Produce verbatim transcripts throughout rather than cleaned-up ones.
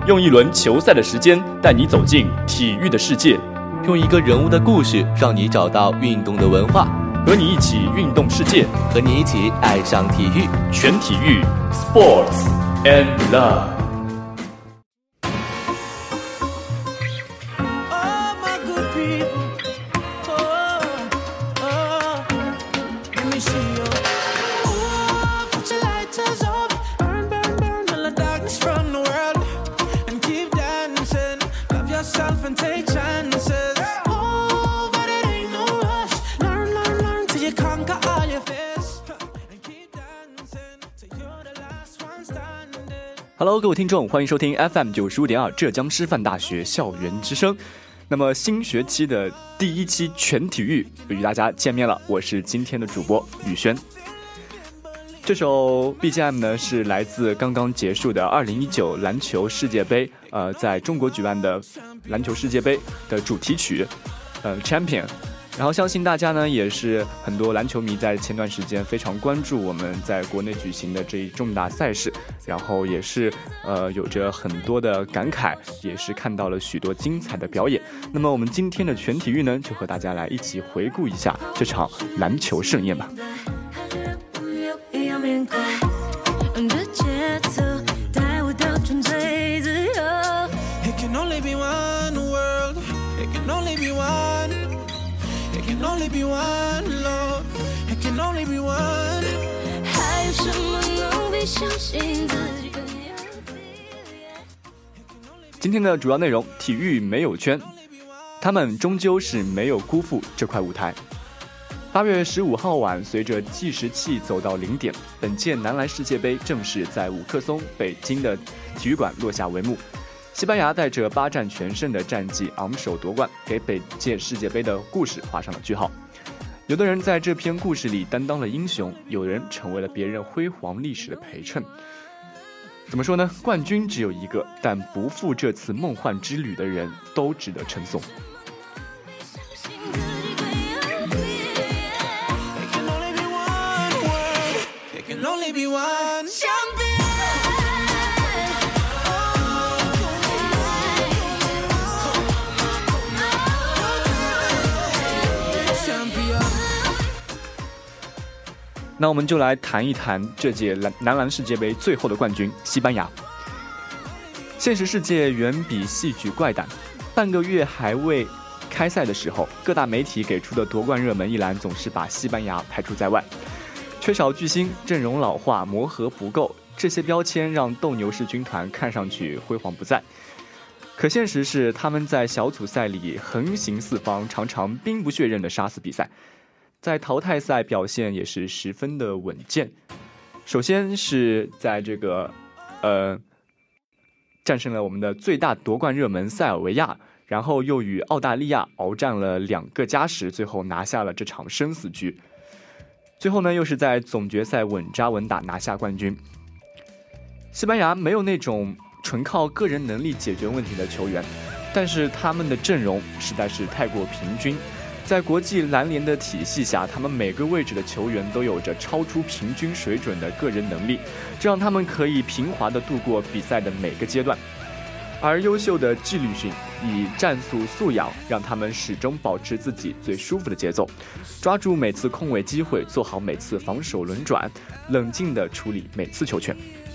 用一轮球赛的时间带你走进体育的世界， 用一个人物的故事让你找到运动的文化， 和你一起运动世界， 和你一起爱上体育。 全体育 Sports and Love。 Hello， 各位听众，欢迎收听 F M 九十五点二浙江师范大学校园之声。那么新学期的第一期全体育与大家见面了，我是今天的主播宇轩。这首 B G M 呢是来自刚刚结束的二零一九篮球世界杯，呃，在中国举办的篮球世界杯的主题曲，呃 Champion。然后相信大家呢也是很多篮球迷在前段时间非常关注我们在国内举行的这一重大赛事，然后也是呃有着很多的感慨，也是看到了许多精彩的表演。那么我们今天的全体育呢，就和大家来一起回顾一下这场篮球盛宴吧。 Only be one love, it can only be one. 还有什么能比相信自己更有 feeling？ 今天的主要内容，体育没有圈，他们终究是没有辜负这块舞台。八月十五号晚，随着计时器走到零点，本届男篮世界杯正式在五棵松北京的体育馆落下帷幕。西班牙带着八战全胜的战绩昂首夺冠，给本届世界杯的故事画上了句号。有的人在这篇故事里担当了英雄，有人成为了别人辉煌历史的陪衬。怎么说呢？冠军只有一个，但不负这次梦幻之旅的人都值得称颂。那我们就来谈一谈这届男篮世界杯最后的冠军西班牙。现实世界远比戏剧怪诞，半个月还未开赛的时候，各大媒体给出的夺冠热门一栏总是把西班牙排除在外。缺少巨星，阵容老化，磨合不够，这些标签让斗牛士军团看上去辉煌不再。可现实是，他们在小组赛里横行四方，常常兵不血刃的杀死比赛。在淘汰赛表现也是十分的稳健，首先是在这个呃战胜了我们的最大夺冠热门塞尔维亚，然后又与澳大利亚鏖战了两个加时，最后拿下了这场生死局。最后呢，又是在总决赛稳扎稳打拿下冠军。西班牙没有那种纯靠个人能力解决问题的球员，但是他们的阵容实在是太过平均。在国际篮联的体系下，他们每个位置的球员都有着超出平均水准的个人能力，这让他们可以平滑地度过比赛的每个阶段。而优秀的纪律性以战术素养，让他们始终保持自己最舒服的节奏，抓住每次空位机会，做好每次防守轮转，冷静地处理每次球权。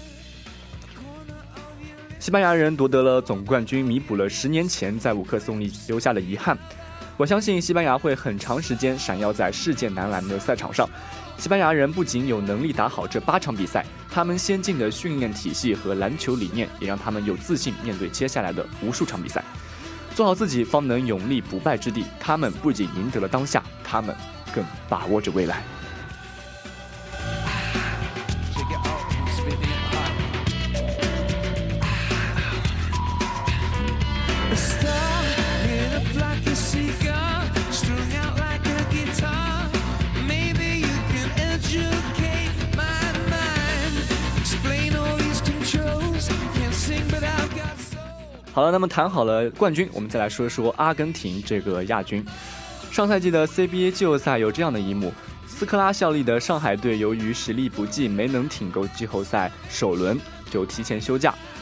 西班牙人夺得了总冠军，弥补了十年前在五棵松里留下的遗憾。我相信西班牙会很长时间闪耀在世界男篮的赛场上。西班牙人不仅有能力打好这八场比赛，他们先进的训练体系和篮球理念也让他们有自信面对接下来的无数场比赛。做好自己，方能永立不败之地。他们不仅赢得了当下，他们更把握着未来。好了，那么谈好了冠军，我们再来说说阿根廷这个亚军。上赛季的 C B A 季后赛有这样的一幕，斯科拉效力的上海队由于实力不济，没能挺够季后赛首轮，就提前休假。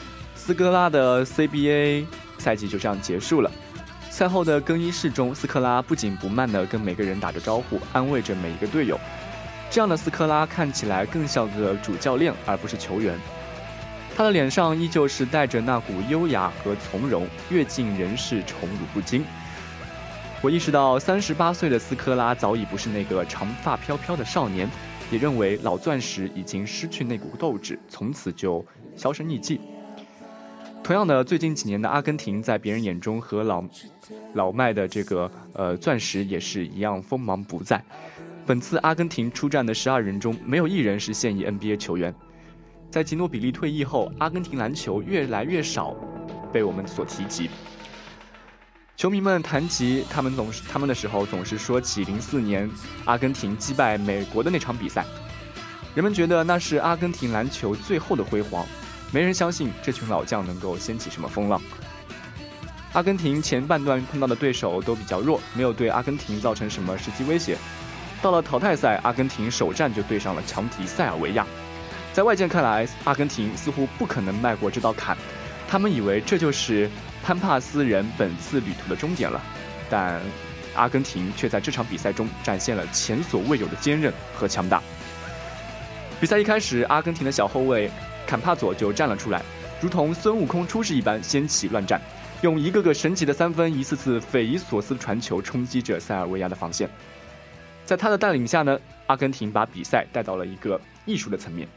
斯科拉的 C B A 赛季就这样结束了。赛后的更衣室中，斯科拉不紧不慢地跟每个人打着招呼，安慰着每一个队友。这样的斯科拉看起来更像个主教练，而不是球员。他的脸上依旧是带着那股优雅和从容，阅尽人世宠辱不惊。我意识到，三十八岁的斯科拉早已不是那个长发飘飘的少年，也认为老钻石已经失去那股斗志，从此就销声匿迹。同样的，最近几年的阿根廷，在别人眼中和老老迈的这个呃钻石也是一样锋芒不再。本次阿根廷出战的十二人中，没有一人是现役 N B A 球员。在吉诺比利退役后，阿根廷篮球越来越少被我们所提及。球迷们谈及他们总是他们的时候，总是说起零四年阿根廷击败美国的那场比赛，人们觉得那是阿根廷篮球最后的辉煌。没人相信这群老将能够掀起什么风浪。阿根廷前半段碰到的对手都比较弱，没有对阿根廷造成什么实际威胁。到了淘汰赛，阿根廷首战就对上了强敌塞尔维亚。在外界看来，阿根廷似乎不可能迈过这道坎，他们以为这就是潘帕斯人本次旅途的终点了。但阿根廷却在这场比赛中展现了前所未有的坚韧和强大。比赛一开始，阿根廷的小后卫坎帕佐就站了出来，如同孙悟空出世一般掀起乱战，用一个个神奇的三分，一次次匪夷所思的传球冲击着塞尔维亚的防线。在他的带领下呢，阿根廷把比赛带到了一个艺术的层面，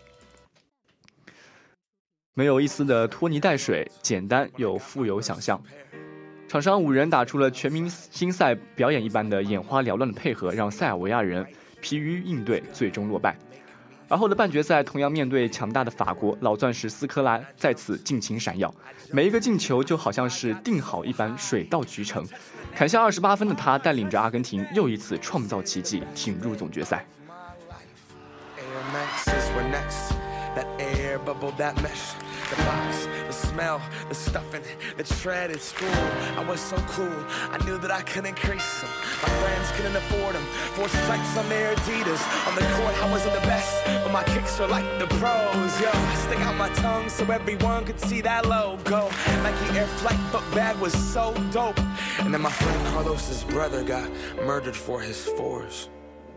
没有一丝的拖泥带水，简单又富有想象。场上五人打出了全明星赛表演一般的眼花缭乱的配合，让塞尔维亚人疲于应对，最终落败。而后的半决赛同样面对强大的法国，老钻石斯科拉再次尽情闪耀，每一个进球就好像是定好一般，水到渠成。砍下二十八分的他，带领着阿根廷又一次创造奇迹，挺入总决赛。 The box, the smell, the stuffing, the tread at school. I was so cool, I knew that I couldn't crease them. My friends couldn't afford them. Four stripes on their Adidas. On the court, I wasn't the best, but my kicks were like the pros. Yo, I stick out my tongue so everyone could see that logo. Nike Air Flight book bag was so dope. And then my friend Carlos's brother got murdered for his fours.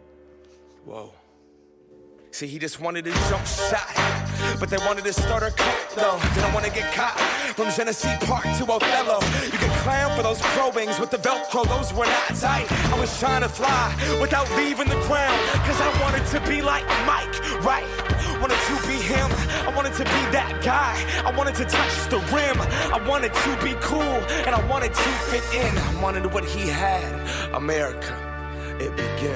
Whoa.See, he just wanted a jump shot, but they wanted to start a cult, though. Didn't want to get caught from Genesee Park to Othello. You can clown for those pro wings with the Velcro, those were not tight. I was trying to fly without leaving the ground, cause I wanted to be like Mike, right? Wanted to be him, I wanted to be that guy. I wanted to touch the rim, I wanted to be cool, and I wanted to fit in. I wanted what he had, America, it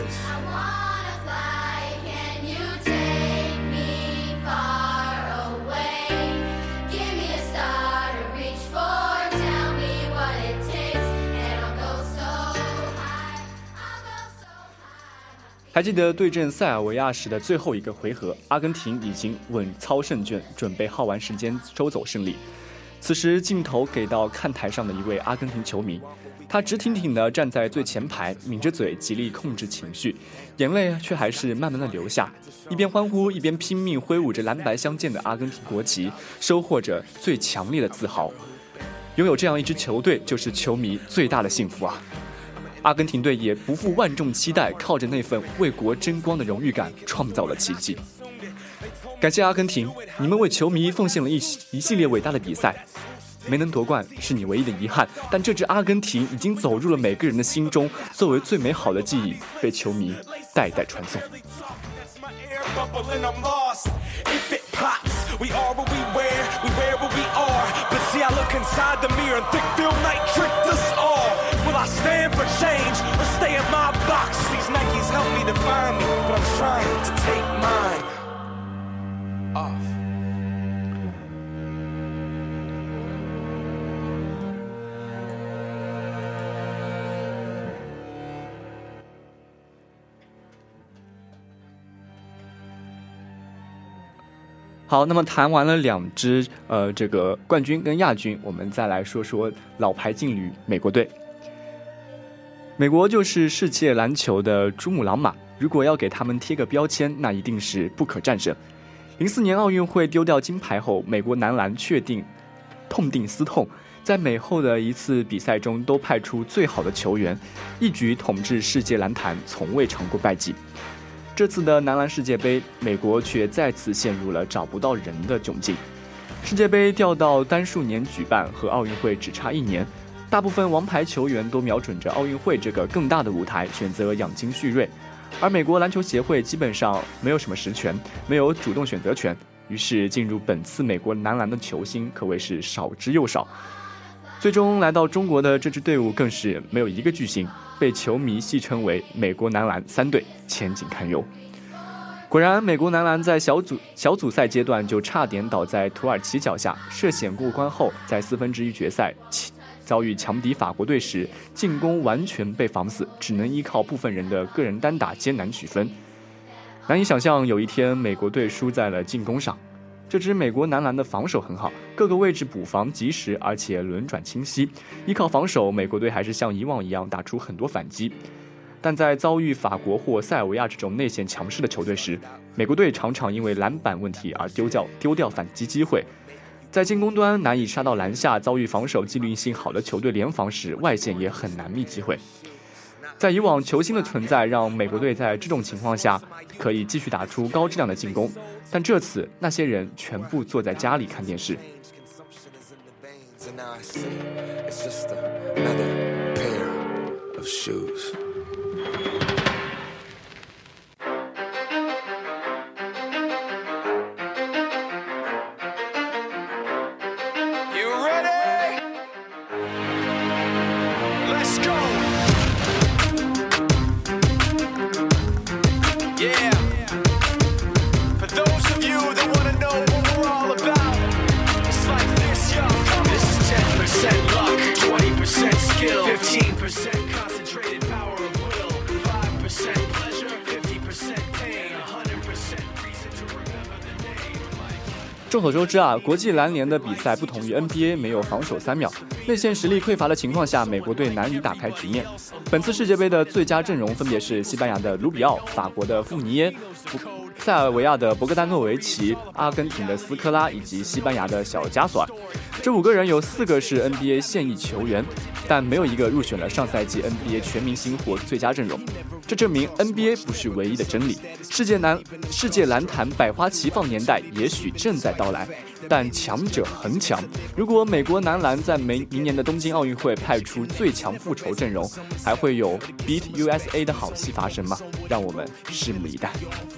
begins.还记得对阵塞尔维亚时的最后一个回合，阿根廷已经稳操胜券，准备耗完时间收走胜利。此时镜头给到看台上的一位阿根廷球迷，他直挺挺地站在最前排，抿着嘴极力控制情绪，眼泪却还是慢慢地流下，一边欢呼一边拼命挥舞着蓝白相间的阿根廷国旗，收获着最强烈的自豪。拥有这样一支球队，就是球迷最大的幸福啊！阿根廷队也不负万众期待，靠着那份为国争光的荣誉感，创造了奇迹。感谢阿根廷，你们为球迷奉献了一一系列伟大的比赛，没能夺冠是你唯一的遗憾，但这支阿根廷已经走入了每个人的心中，作为最美好的记忆，被球迷代代传颂。 We are what we wear, we wear what we are. But see, I look inside the mirror and think Phil Knight tricked us all. Will I stand for change or stay in my box? These Nikes help me define me, but I'm trying to take mine off. 好，那么谈完了两支呃这个冠军跟亚军，我们再来说说老牌劲旅美国队。美国就是世界篮球的珠穆朗玛，如果要给他们贴个标签，那一定是不可战胜。 零四年奥运会丢掉金牌后，美国男篮确定痛定思痛，在每后的一次比赛中都派出最好的球员，一举统治世界篮坛，从未尝过败绩。这次的男篮世界杯，美国却再次陷入了找不到人的窘境。世界杯调到单数年举办，和奥运会只差一年，大部分王牌球员都瞄准着奥运会这个更大的舞台，选择养精蓄锐。而美国篮球协会基本上没有什么实权，没有主动选择权，于是进入本次美国男篮的球星可谓是少之又少。最终来到中国的这支队伍更是没有一个巨星，被球迷戏称为美国男篮三队，前景堪忧。果然，美国男篮在小组小组赛阶段就差点倒在土耳其脚下，涉险过关后，在四分之一决赛遭遇强敌法国队时，进攻完全被防死，只能依靠部分人的个人单打艰难取分。难以想象有一天美国队输在了进攻上。这支美国男篮的防守很好，各个位置补防及时，而且轮转清晰。依靠防守，美国队还是像以往一样打出很多反击。但在遭遇法国或塞尔维亚这种内线强势的球队时，美国队常常因为篮板问题而丢掉丢掉反击机会。在进攻端难以杀到篮下，遭遇防守纪律性好的球队联防时，外线也很难觅机会。在以往，球星的存在让美国队在这种情况下可以继续打出高质量的进攻，但这次那些人全部坐在家里看电视。众所周知啊，国际篮联的比赛不同于 N B A 没有防守三秒，内线实力匮乏的情况下，美国队难以打开局面。本次世界杯的最佳阵容分别是西班牙的卢比奥、法国的富尼耶、塞尔维亚的博格丹诺维奇、阿根廷的斯科拉以及西班牙的小加索尔。这五个人有四个是 N B A 现役球员，但没有一个入选了上赛季 N B A 全明星或最佳阵容。这证明 N B A 不是唯一的真理，世界篮世界篮坛百花齐放年代也许正在到来，但强者恒强。如果美国男篮在明明年的东京奥运会派出最强复仇阵容，还会有 Beat U S A 的好戏发生吗？让我们拭目以待。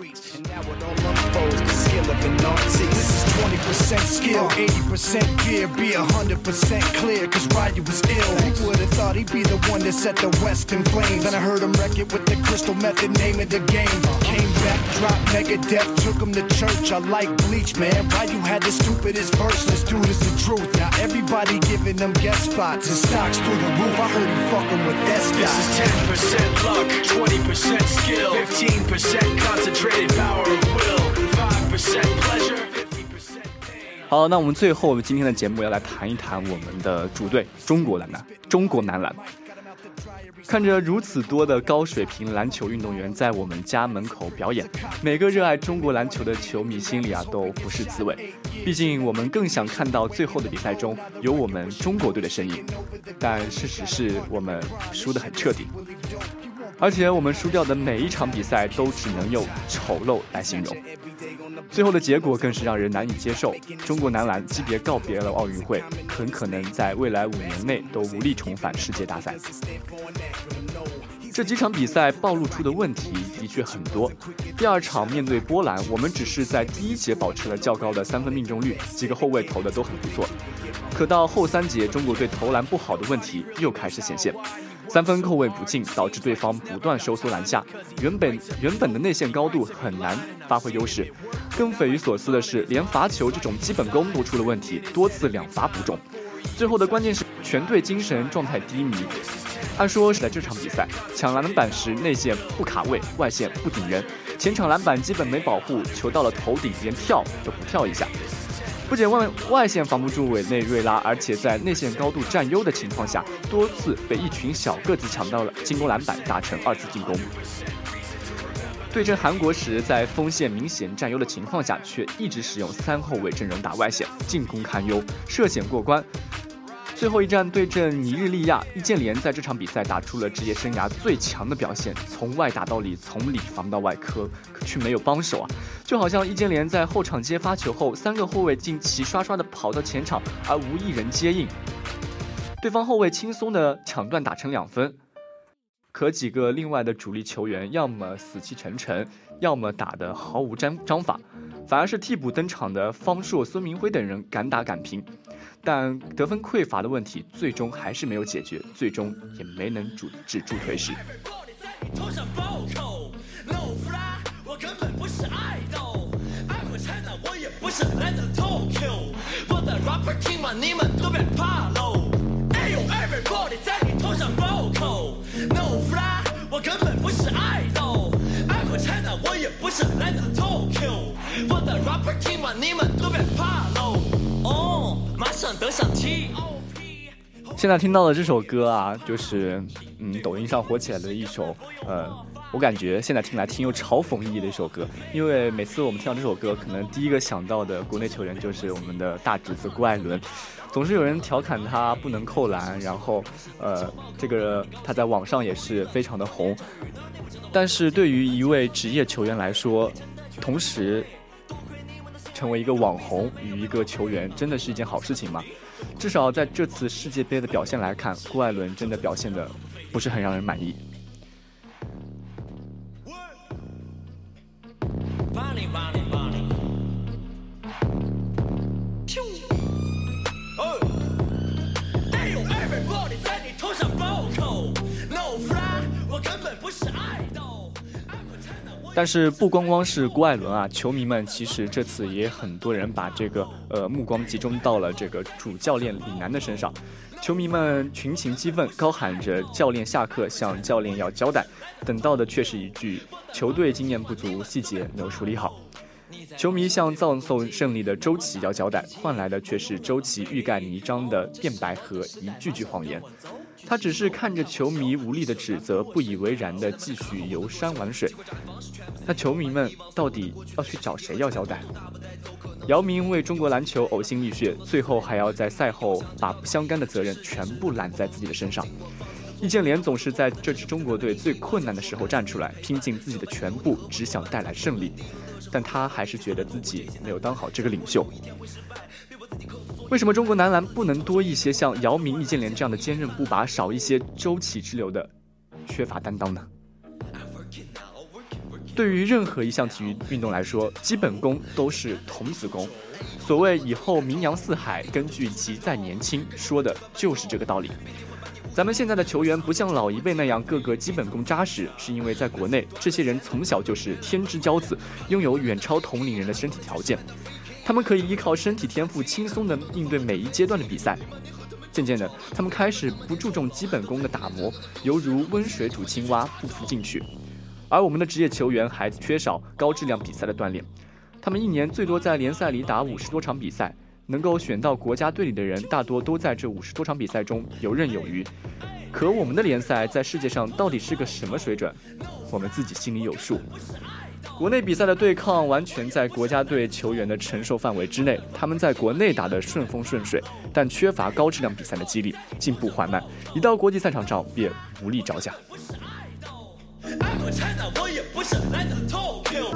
twenty percent skill, eighty percent gear, be one hundred percent clear, cause Ryu was ill. Who would've thought he'd be the one that set the West in flames? Then I heard him wreck it with the crystal method, name of the game. Came back, dropped Megadeth, took him to church. I like Bleach, man. Ryu had the stupidest verse, let's do this the truth. Now everybody giving them guest spots and stocks through the roof. I heard he fucking with that stock. This is ten percent luck, twenty percent skill, fifteen percent concentrated power of will, five percent pleasure. 好，那我们最后今天的节目要来谈一谈我们的主队中国男篮。中国男篮看着如此多的高水平篮球运动员在我们家门口表演，每个热爱中国篮球的球迷心里啊都不是滋味。毕竟我们更想看到最后的比赛中有我们中国队的身影，但事实是我们输得很彻底。而且我们输掉的每一场比赛都只能用丑陋来形容，最后的结果更是让人难以接受。中国男篮级别告别了奥运会，很可能在未来五年内都无力重返世界大赛。这几场比赛暴露出的问题的确很多。第二场面对波兰，我们只是在第一节保持了较高的三分命中率，几个后卫投的都很不错。可到后三节，中国队投篮不好的问题又开始显现，三分扣位不进，导致对方不断收缩篮下，原本原本的内线高度很难发挥优势。更匪夷所思的是，连罚球这种基本功都出了问题，多次两罚不中。最后的关键是全队精神状态低迷。按说是在这场比赛抢篮板时内线不卡位，外线不顶人，前场篮板基本没保护，球到了头顶连跳都不跳一下。不仅外外线防不住委内瑞拉，而且在内线高度占优的情况下，多次被一群小个子抢到了进攻篮板，打成二次进攻。 对阵韩国时，在锋线明显占优的情况下，却一直使用三后卫阵容打外线，进攻堪忧，涉险过关。最后一战对阵尼日利亚，易建联在这场比赛打出了职业生涯最强的表现，从外打到里，从里防到外，可可却没有帮手啊！就好像易建联在后场接发球后，三个后卫竟齐刷刷的跑到前场，而无一人接应，对方后卫轻松的抢断打成两分。可几个另外的主力球员，要么死气沉沉，要么打得毫无章章法，反而是替补登场的方硕、孙铭徽等人敢打敢拼。但得分匮乏的问题最终还是没有解决，最终也没能止止住颓势。 我根本不是爱豆 I'm a China 我也不是来自 Tokyo 我的 rapper 听完你们都别怕喽哦马上得上 T O P 现在听到的这首歌啊，就是嗯抖音上火起来的一首呃我感觉现在听来挺有嘲讽意义的一首歌，因为每次我们听到这首歌，可能第一个想到的国内球员就是我们的大侄子郭艾伦，总是有人调侃他不能扣篮，然后呃，这个他在网上也是非常的红。但是对于一位职业球员来说，同时成为一个网红与一个球员，真的是一件好事情吗？至少在这次世界杯的表现来看，郭艾伦真的表现的不是很让人满意。但是不光光是郭艾伦啊，球迷们其实这次也很多人把这个呃目光集中到了这个主教练李楠的身上，球迷们群情激愤，高喊着教练下课，向教练要交代，等到的却是一句球队经验不足，细节没有处理好。球迷向葬送胜利的周琦要交代，换来的却是周琦欲盖弥彰的辩白和一句句谎言。他只是看着球迷无力的指责，不以为然的继续游山玩水。那球迷们到底要去找谁要交代？姚明为中国篮球呕心沥血，最后还要在赛后把不相干的责任全部揽在自己的身上。易建联总是在这支中国队最困难的时候站出来，拼尽自己的全部，只想带来胜利。但他还是觉得自己没有当好这个领袖。为什么中国男篮不能多一些像姚明、易建联这样的坚韧不拔，少一些周琦之流的缺乏担当呢？对于任何一项体育运动来说，基本功都是童子功。所谓以后名扬四海，根据其在年轻，说的就是这个道理。咱们现在的球员不像老一辈那样个个基本功扎实，是因为在国内，这些人从小就是天之骄子，拥有远超同龄人的身体条件，他们可以依靠身体天赋轻松地应对每一阶段的比赛。渐渐的，他们开始不注重基本功的打磨，犹如温水煮青蛙，不思进取。而我们的职业球员还缺少高质量比赛的锻炼，他们一年最多在联赛里打五十多场比赛，能够选到国家队里的人，大多都在这五十多场比赛中游刃有余。可我们的联赛在世界上到底是个什么水准，我们自己心里有数。国内比赛的对抗完全在国家队球员的承受范围之内，他们在国内打得顺风顺水，但缺乏高质量比赛的激励，进步缓慢，一到国际赛场上便无力招架。我也不是来自 Tokyo。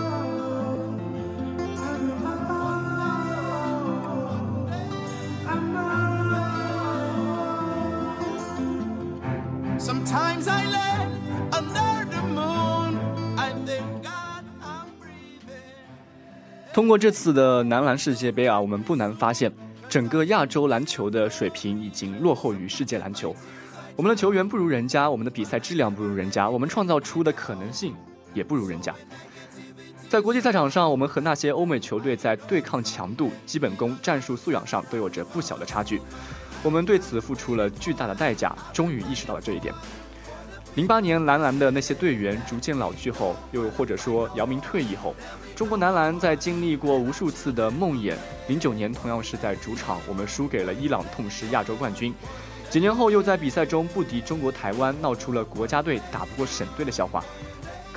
Sometimes I lay under the moon I thank God I'm breathing。 通过这次的男篮世界杯啊，我们不难发现，整个亚洲篮球的水平已经落后于世界篮球。我们的球员不如人家，我们的比赛质量不如人家，我们创造出的可能性也不如人家。在国际赛场上，我们和那些欧美球队在对抗强度、基本功、战术素养上都有着不小的差距。我们对此付出了巨大的代价，终于意识到了这一点。零八年男篮的那些队员逐渐老去后，又或者说姚明退役后，中国男篮在经历过无数次的梦魇。零九年同样是在主场，我们输给了伊朗，痛失亚洲冠军。几年后又在比赛中不敌中国台湾，闹出了国家队打不过省队的笑话。可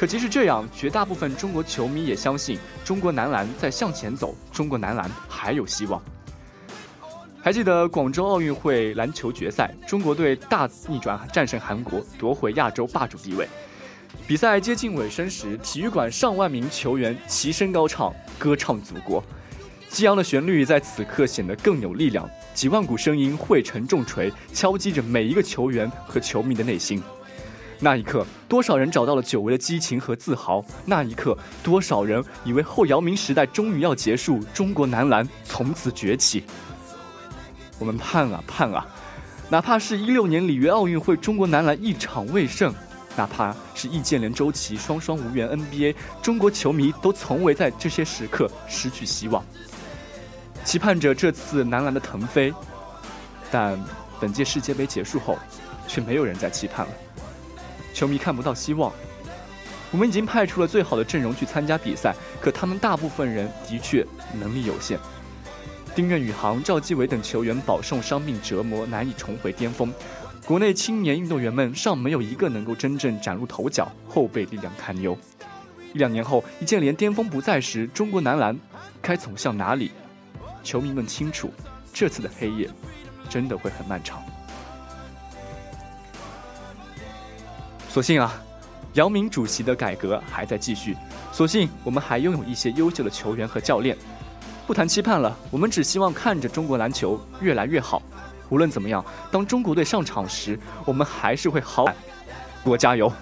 可即使这样，绝大部分中国球迷也相信中国男篮在向前走，中国男篮还有希望。还记得广州奥运会篮球决赛，中国队大逆转战胜韩国，夺回亚洲霸主地位。比赛接近尾声时，体育馆上万名球员齐声高唱，歌唱祖国。激昂的旋律在此刻显得更有力量，几万股声音汇成重锤，敲击着每一个球员和球迷的内心。那一刻，多少人找到了久违的激情和自豪？那一刻，多少人以为后姚明时代终于要结束，中国男篮从此崛起。我们盼啊盼啊，哪怕是一六年里约奥运会，中国男篮一场未胜，哪怕是易建联、周琦双双无缘 N B A， 中国球迷都从未在这些时刻失去希望，期盼着这次男篮的腾飞。但本届世界杯结束后，却没有人再期盼了。球迷看不到希望，我们已经派出了最好的阵容去参加比赛，可他们大部分人的确能力有限。丁苑宇航、赵继伟等球员饱受伤病折磨，难以重回巅峰。国内青年运动员们尚没有一个能够真正崭露头角，后备力量堪忧。一两年后，易建联巅峰不在时，中国男篮该走向哪里？球迷们清楚，这次的黑夜真的会很漫长。所幸啊，姚明主席的改革还在继续，所幸我们还拥有一些优秀的球员和教练。不谈期盼了，我们只希望看着中国篮球越来越好。无论怎么样，当中国队上场时，我们还是会好喊国加油。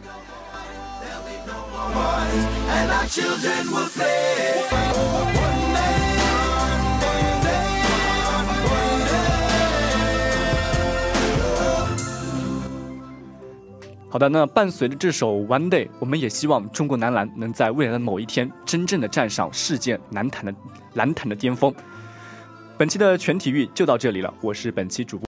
好的，那伴随着这首 One Day， 我们也希望中国男篮能在未来的某一天真正的站上世界篮坛的篮坛的巅峰。本期的全体育就到这里了，我是本期主播